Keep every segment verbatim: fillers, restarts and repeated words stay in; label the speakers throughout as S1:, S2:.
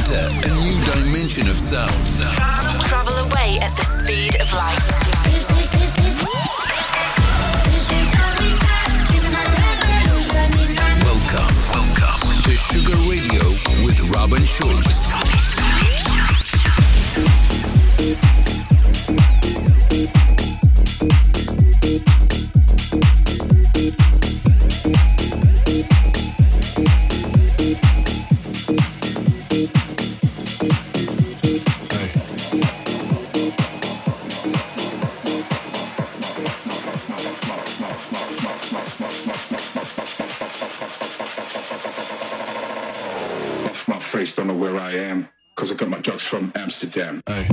S1: Enter a new dimension of sound.
S2: Travel away at the speed of light.
S1: Welcome, welcome to Sugar Radio with Robin Schulz.
S3: Don't know where I am, cause I got my drugs from Amsterdam. Hey.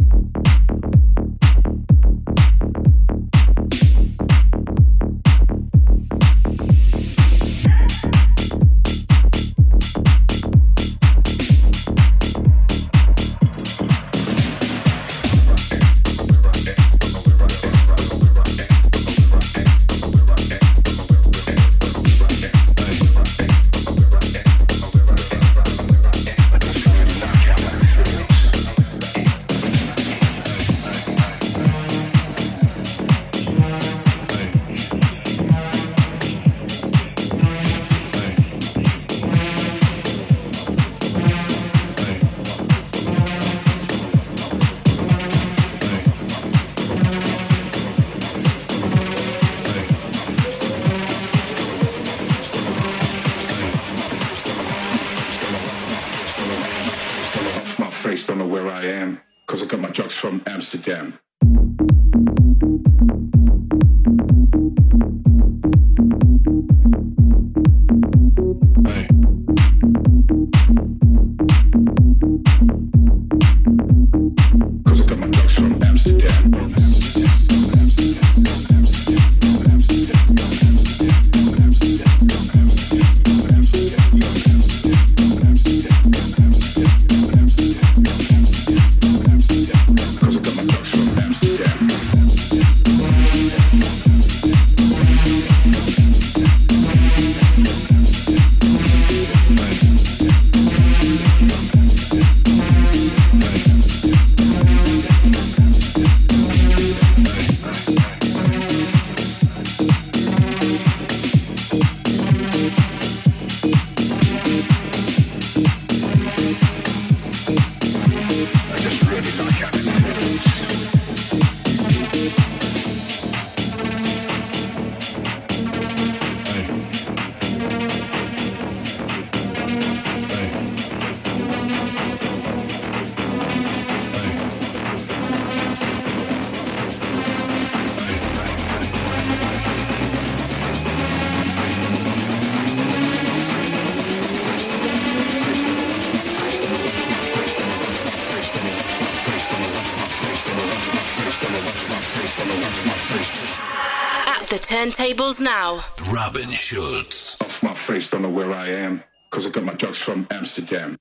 S3: Don't know where I am, cause I got my drugs from Amsterdam.
S2: Turntables now.
S1: Robin Schulz.
S3: Off my face, don't know where I am, cause I got my drugs from Amsterdam.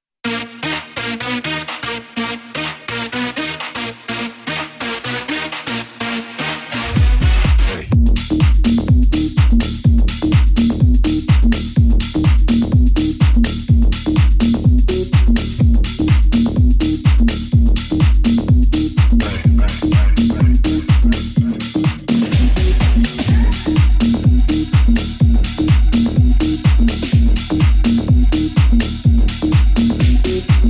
S1: We'll be right back.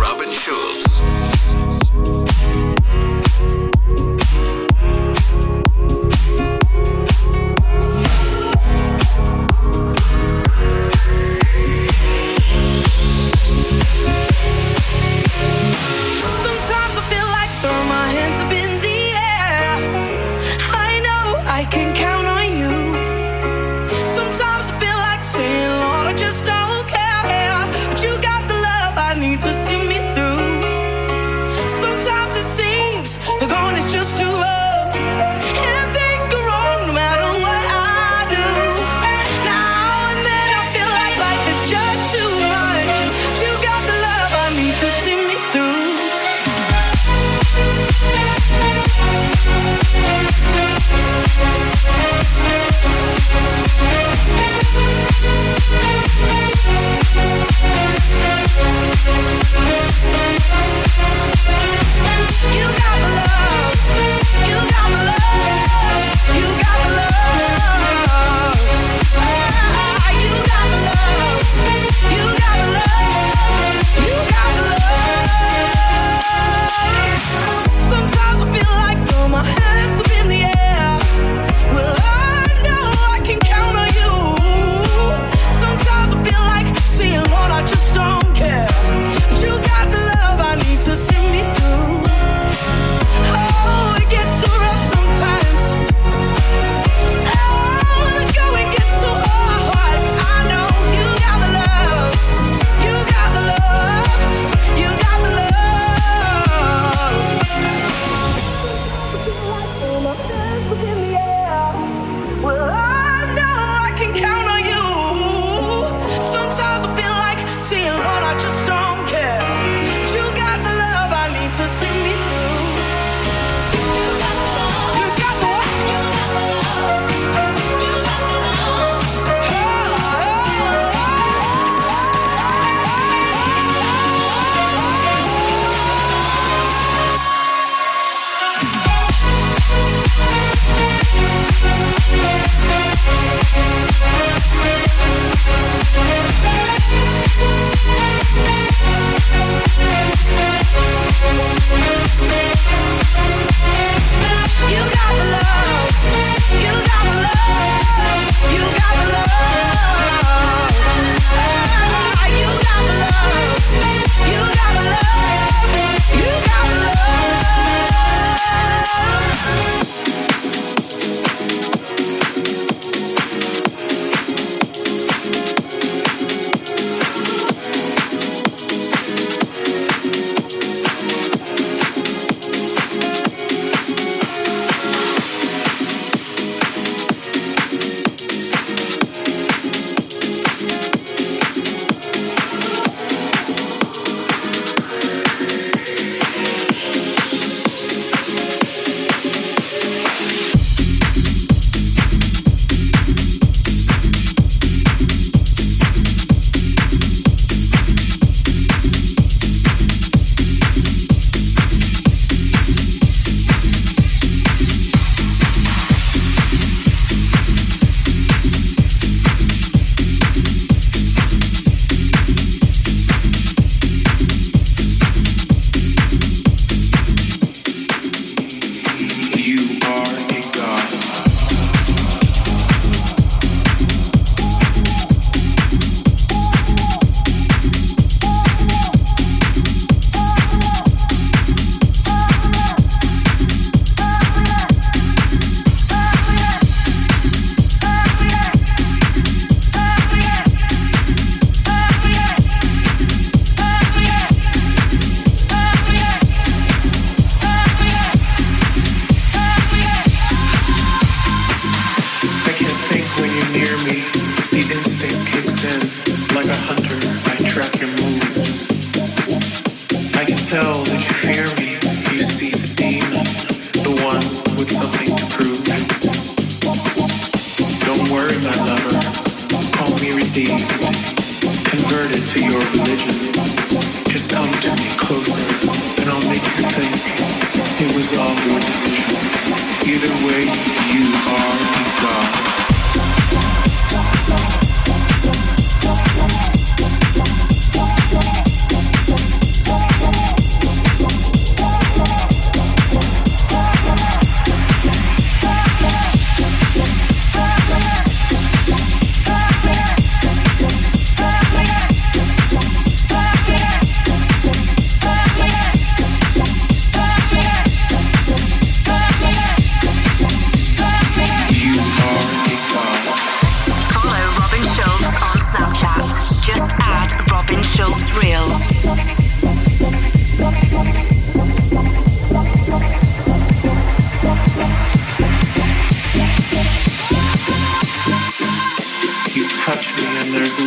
S1: Robin Schulz.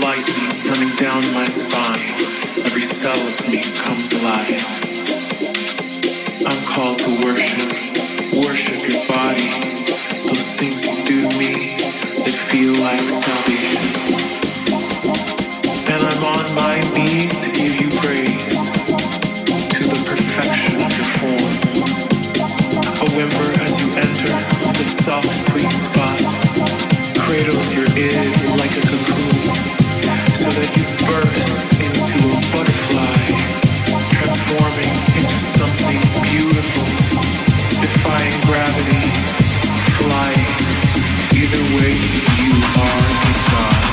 S4: lightning running down my spine. Every cell of me comes alive. I'm called to worship, worship your body. Those things you do to me, they feel like salvation. And I'm on my knees to give you praise, to the perfection of your form. A whimper as you enter the soft, sweet spot, cradles your id like a cocoon, so that you burst into a butterfly, transforming into something beautiful, defying gravity, flying. Either way, you are a god.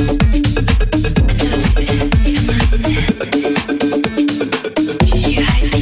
S5: You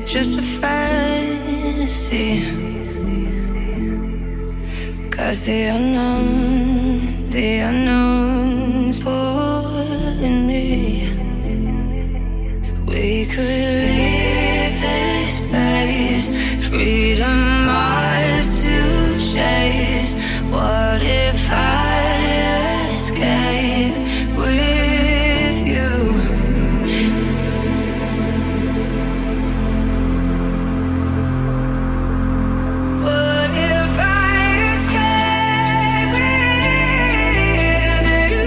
S5: it just a fantasy? 'Cause the unknown, the unknown's pulling me. We could leave this place, freedom ours to chase. What if I escape with you? What if I escape with you?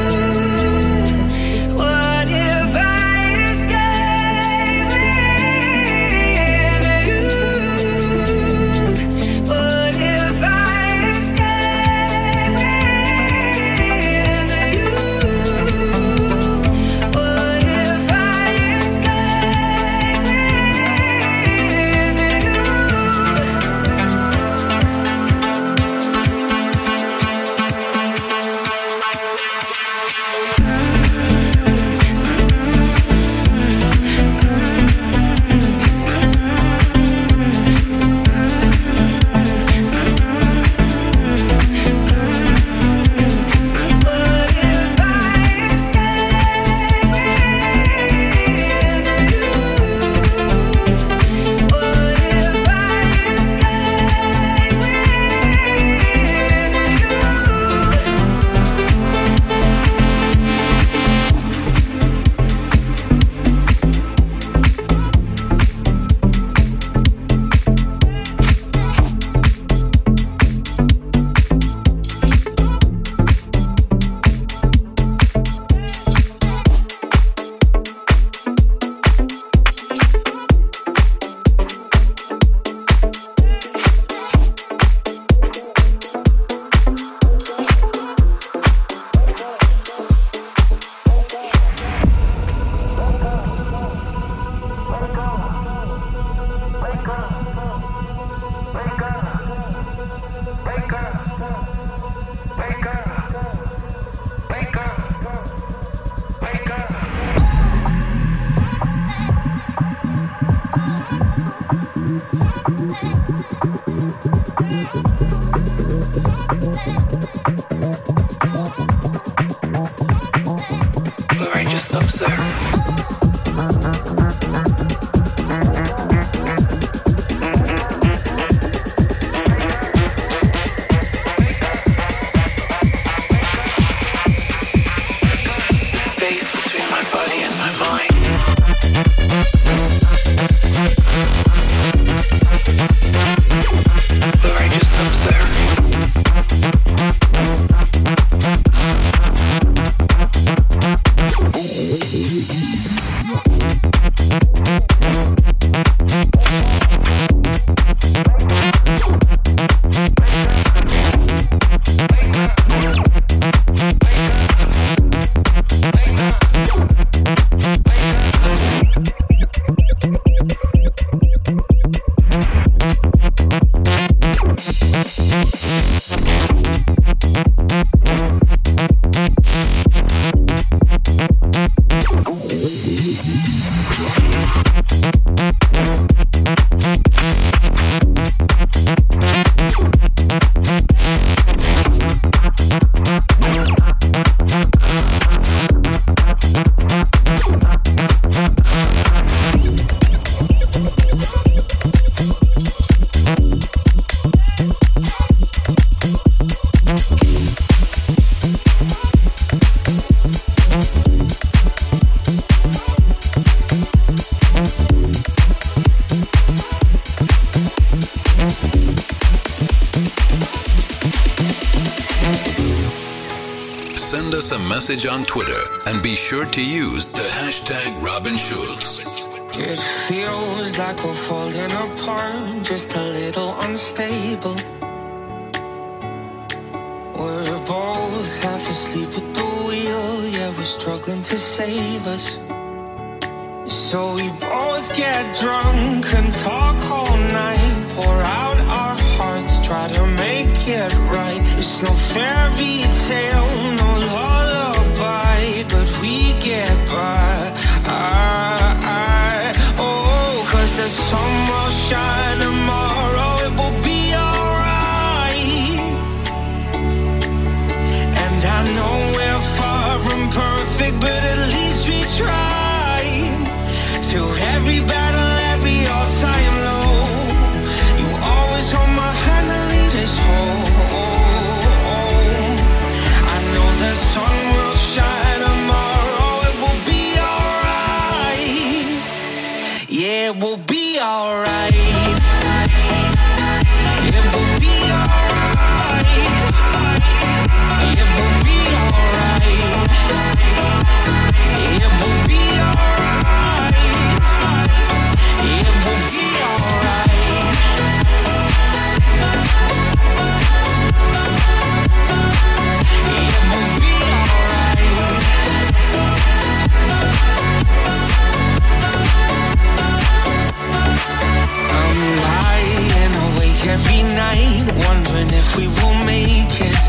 S5: What if I escape with you? What if I escape with you? What if I escape
S4: Or I just observe.
S1: Send us a message on Twitter and be sure to use the hashtag Robin Schulz.
S6: It feels like we're falling apart, just a little unstable. We're both half asleep at the wheel, yeah, we're struggling to save us. So we both get drunk and talk all night, pour out our hearts, try to make it right. It's no fairy tale, no lullaby, but we get by. I, I, oh, 'cause there's wondering if we will make it.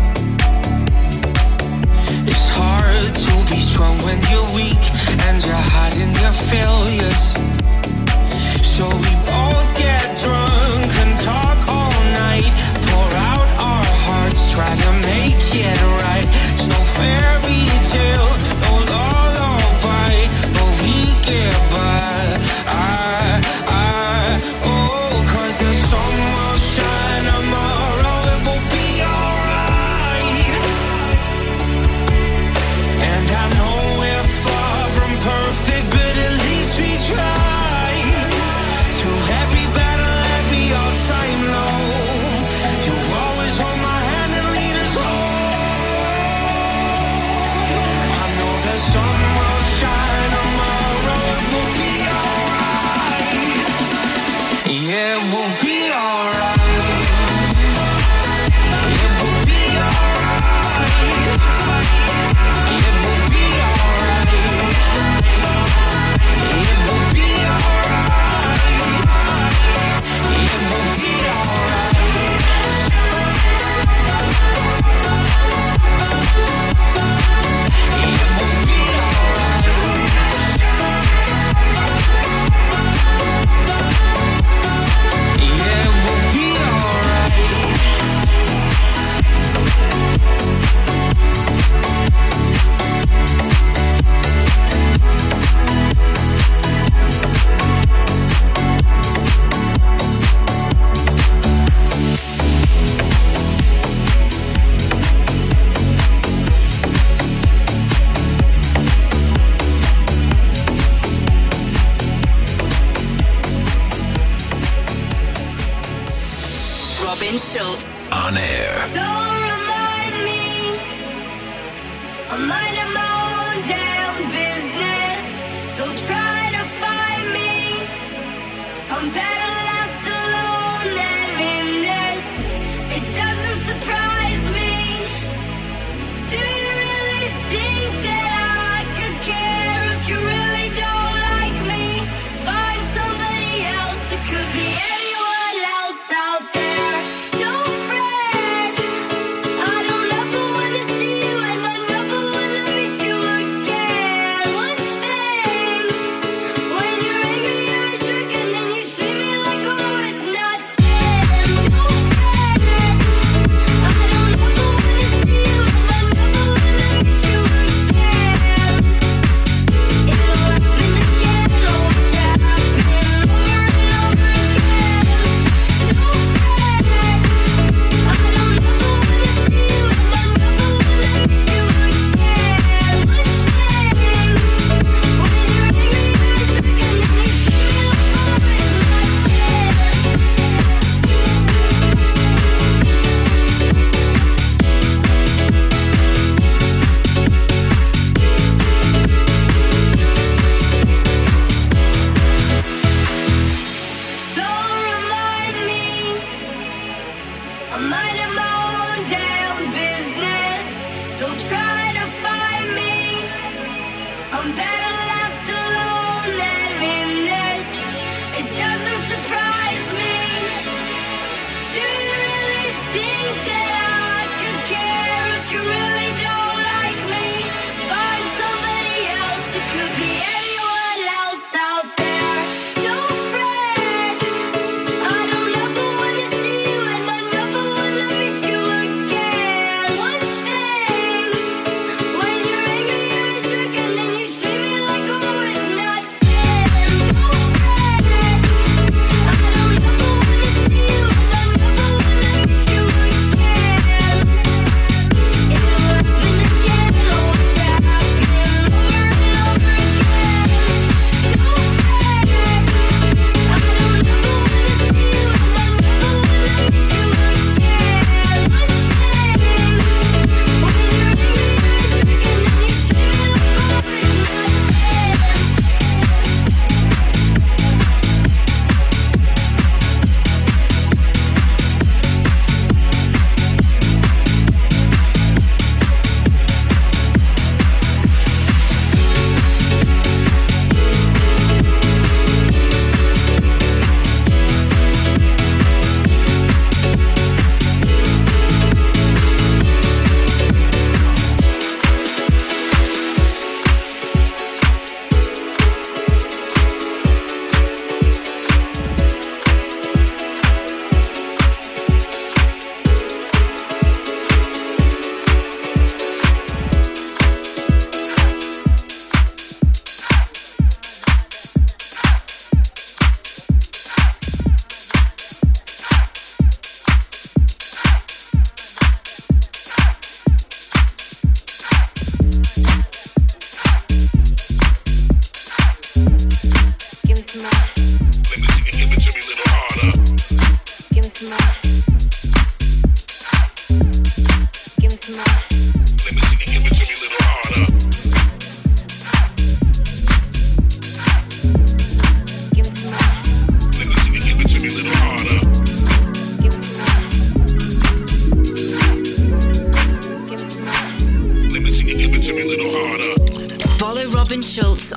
S6: It's hard to be strong when you're weak and you're hiding your failures. So we both get drunk and talk all night, pour out our hearts, try to make it right. It's no fairy tale, no lullaby, but we get by. I, I, oh, 'cause the sun will shine tomorrow, it will be alright. And I know we're far from perfect, but at least we try. Through every battle, every all-time low, you always hold my hand and lead us home. I know the sun will shine tomorrow, it will be alright. Yeah, it will be alright. It will be alright. It will be alright. It will be alright. It will be alright. It will be alright. Yeah, it will be alright.
S2: Robin Schulz.
S1: On air.
S5: Don't remind me, I'm minding my own damn business. Don't try to find me, I'm better left alone than in this. It doesn't surprise me. Do you really think that I could care if you really don't like me? Find somebody else, it could be anyone else out there. Don't fret, I don't ever wanna see you and I never wanna miss you again. One thing, when you're angry you're a jerk and then you treat me like I'm worth nothing. Don't fret, I don't ever wanna see you and I never wanna miss you again. It'll happen again, oh watch it happen over and over again. Don't fret, I don't ever wanna see you and I never wanna miss you again. One thing, when you're angry you're a jerk and then you treat me like I'm worth Don't remind me, I'm minding my own damn business. Don't try to find me, I'm better left alone than in this. It doesn't surprise me. Do you really think that I could care if you really don't like me? Find somebody else, it could be anyone else out there. Don't fret, I don't ever wanna see you and I never wanna miss you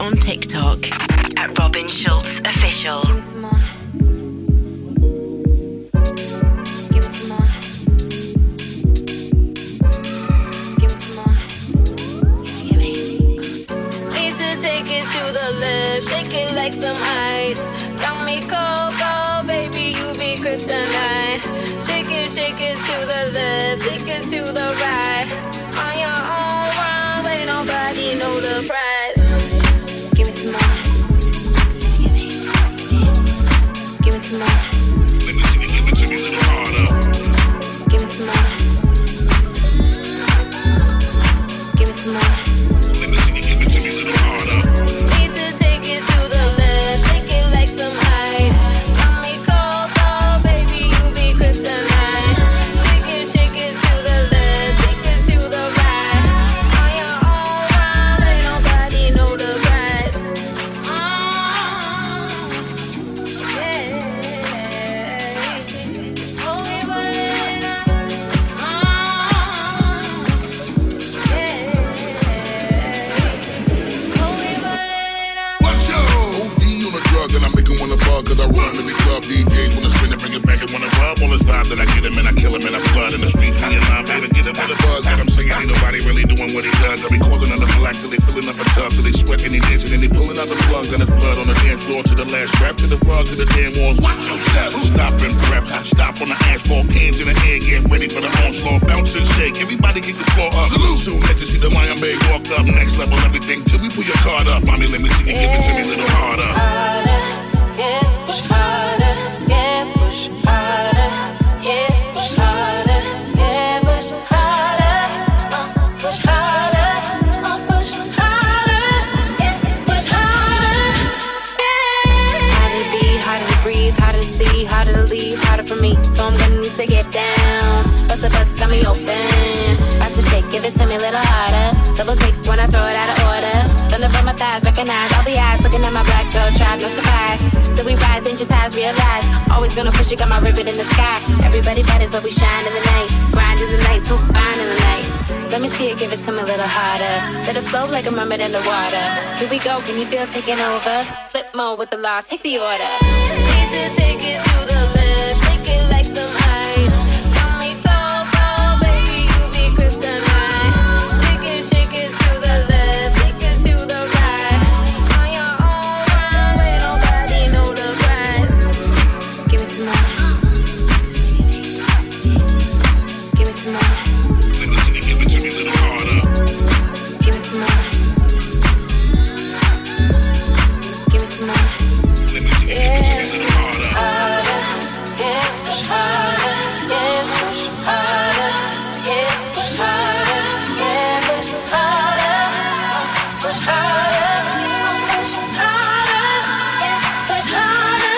S2: on TikTok at Robin Schulz Official.
S5: Give me some more. Give me some more. Give me some more. Give me, give me. Need to take it to the left, shake it like some ice. Got me cold, cold, baby, you be kryptonite. Shake it, shake it to the left, take it to the right. On your own run, ain't nobody know the price. Give me some more. Give me, give me some more.
S3: Let me see you give it to me a little harder.
S5: Give me some more. Give me some more.
S3: Let me see you give it to me a little harder.
S5: Need to take it to the left, shake it like some ice. Got me cold, cold, baby, you be kryptonite. Shake it, shake it to the left, take it to the right. On your own run, ain't nobody know the price. Oh, yeah. Oh, we running up. Oh, yeah. Oh, we running up.
S3: Watch out! O D on a drug and I make him wanna bug. Cause I run in the club, D Js wanna spin and bring it back and wanna rub. All this vibe that I get him and I kill him and I flood in the streets. Me and my baby get him with a buzz. And I'm saying ain't nobody really doing what he does. I be calling on the black till they filling up a tub. Till they sweating, they dancing and they pulling out the plugs. And there's blood on the dance floor to the last breath. To the rug, to the damn walls. Watch yourself. Stop and prep. Stop on the asphalt. Hands in the air, get ready for the onslaught. Bounce and shake. Everybody get the floor up. Salute. Soon as you see the Lion Bay walk up. Next level everything till we pull your card up. Mommy, let me see you give it to me a little harder.
S5: Harder, yeah, push harder, yeah, push harder, yeah, push harder, yeah, push harder, uh, push harder, uh, push harder, yeah, push harder, yeah. Harder to be, harder to breathe, harder to see, harder to leave, harder for me. So I'm gonna need to get down. Bust a bust, got me open. About to shake, give it to me a little harder. Double take when I throw it out of order. Thunder from my thighs, recognize all the eyes looking at my black girl tribe, no surprise. Still we rise, digitize, realize. Always gonna push it, got my ribbon in the sky. Everybody matters, but we shine in the night. Grind in the night, so fine in the night. Let me see it, give it to me a little harder. Let it flow like a mermaid in the water. Here we go, can you feel it taking over? Flip mode with the law, take the order. Need to take it to the left, shake it like some ice. Got me cold, cold, baby, you be kryptonite. Shake it, shake it to the left, take it to the right. On your own run, ain't nobody know the price. Give me some more. Give me some more.
S3: Let me see you give it to me a little harder.
S5: Give me some more. Give me some more.
S3: Let me see you give it to me a little harder.
S5: Harder, yeah, push harder, yeah, push harder, yeah, push harder, yeah, push harder, push harder, push harder, yeah, push harder,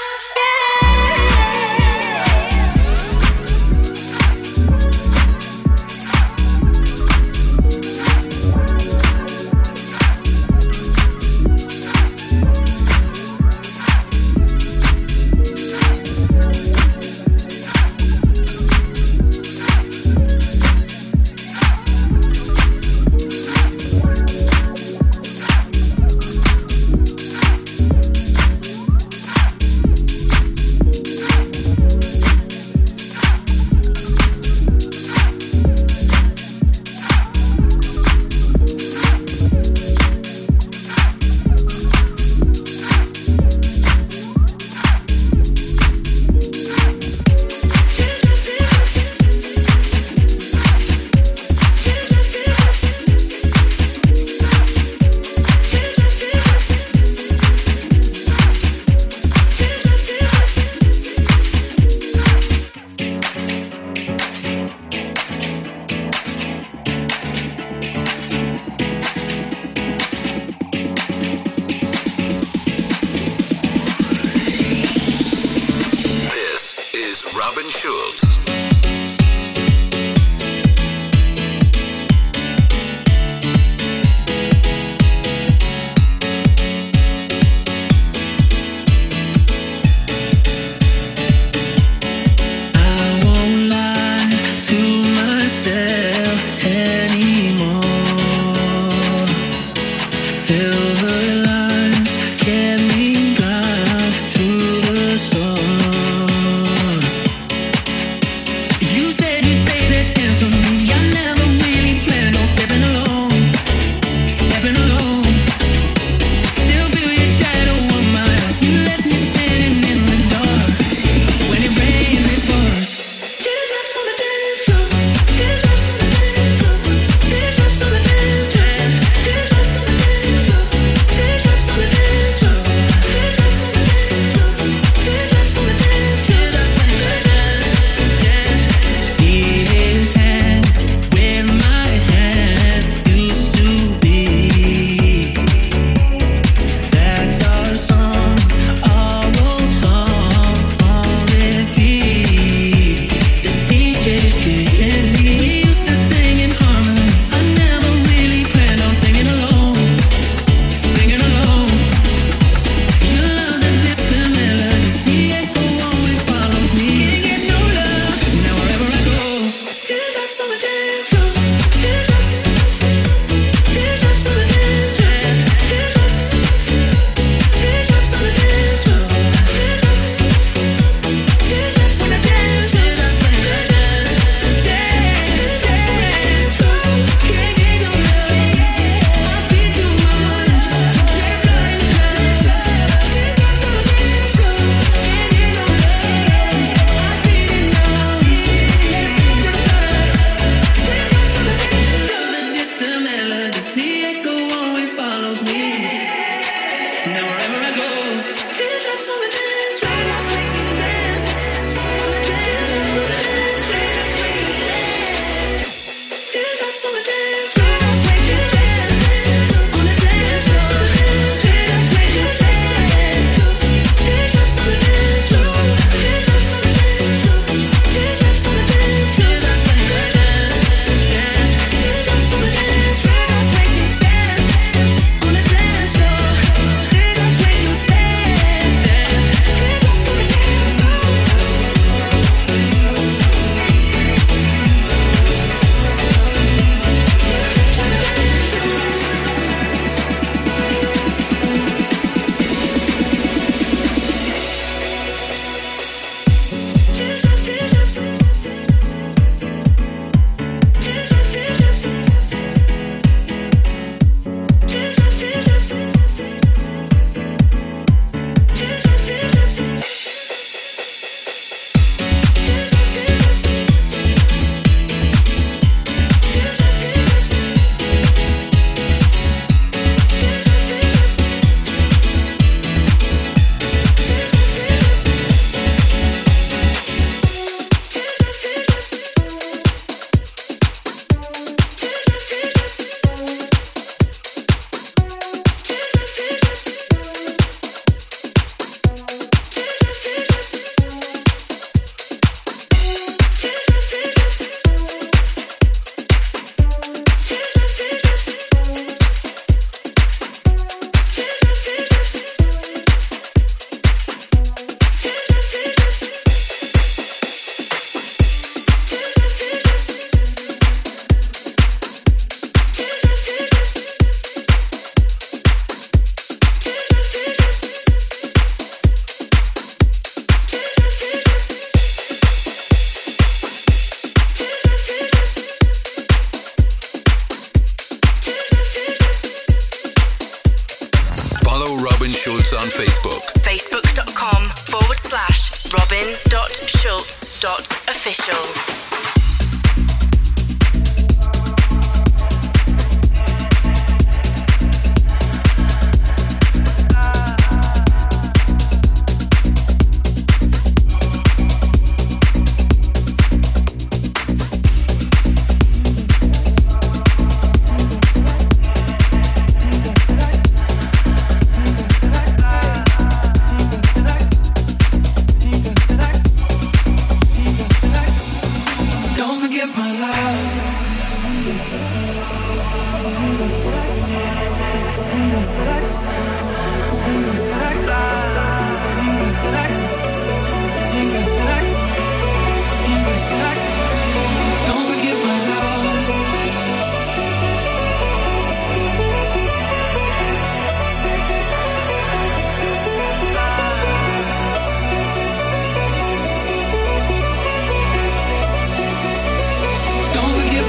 S1: Robin Schulz.
S6: Silver
S2: dot official.
S7: Don't forget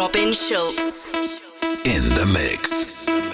S2: Robin Schulz.
S1: In the mix.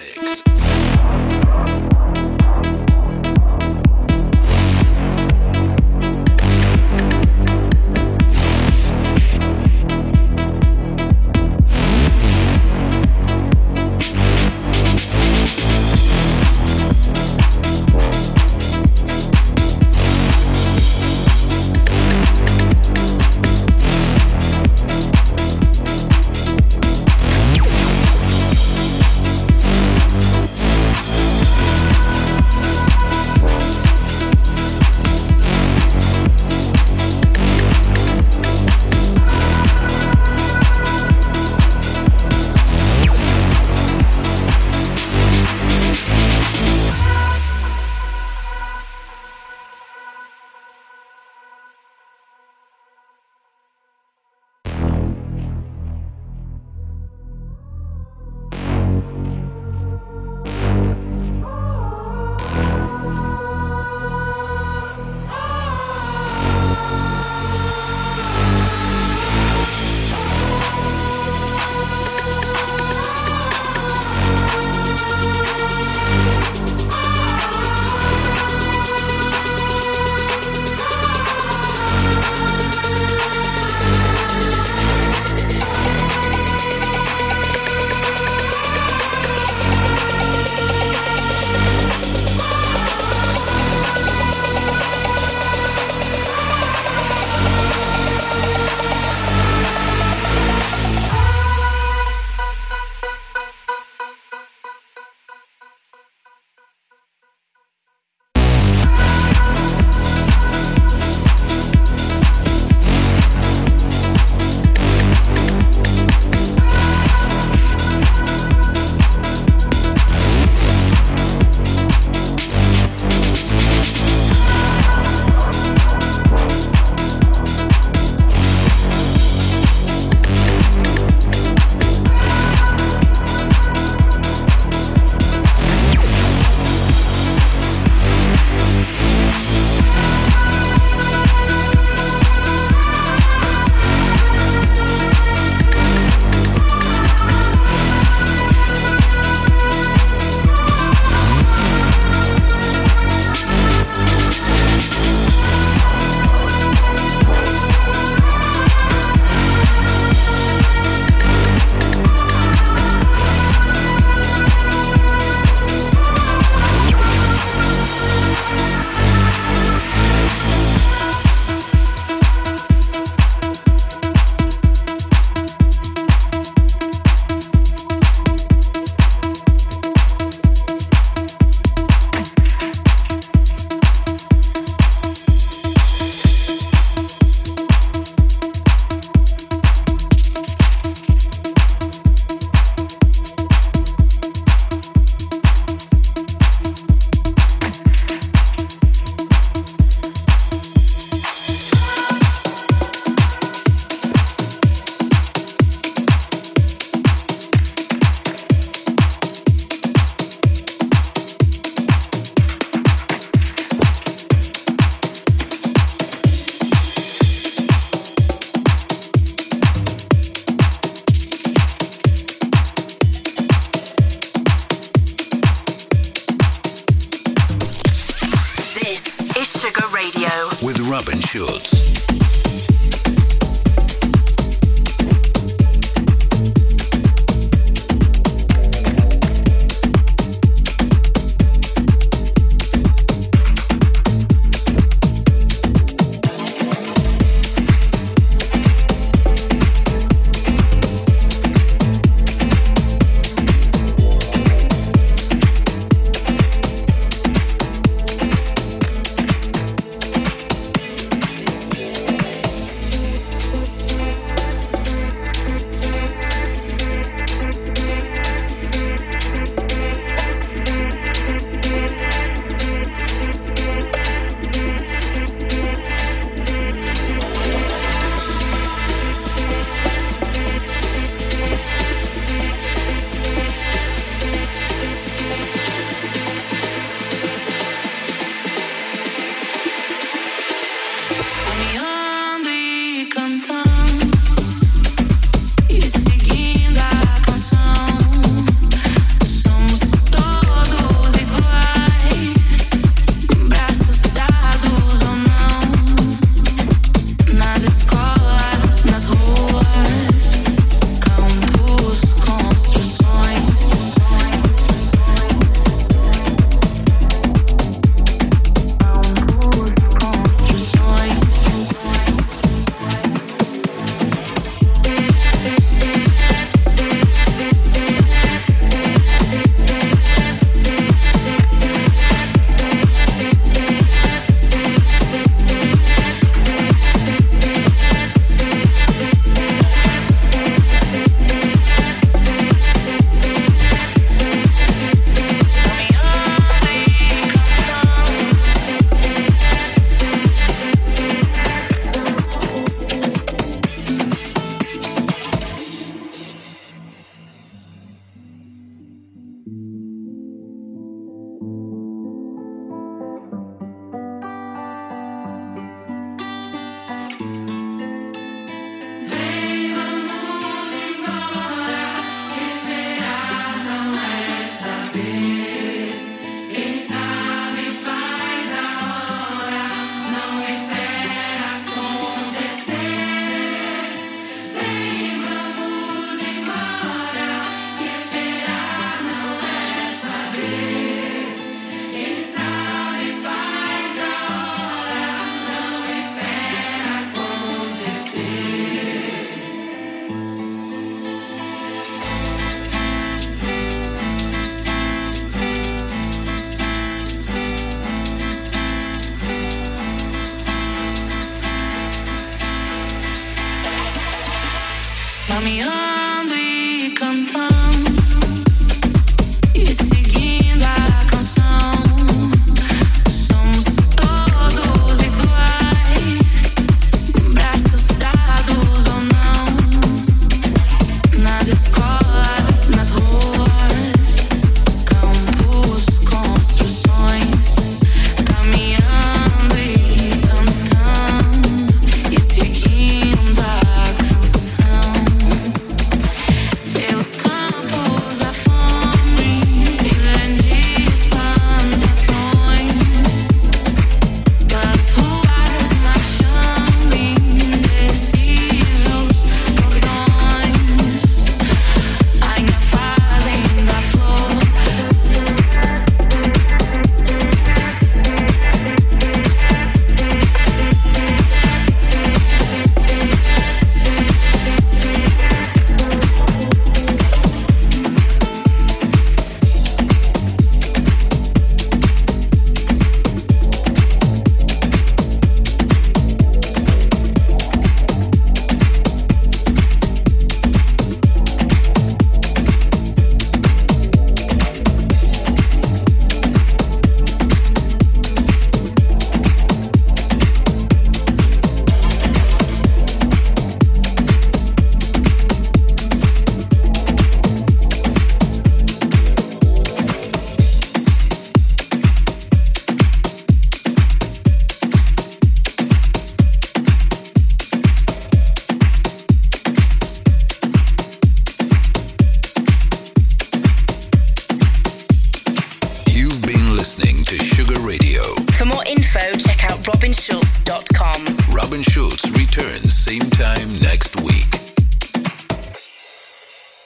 S1: With Robin Schulz.
S5: just close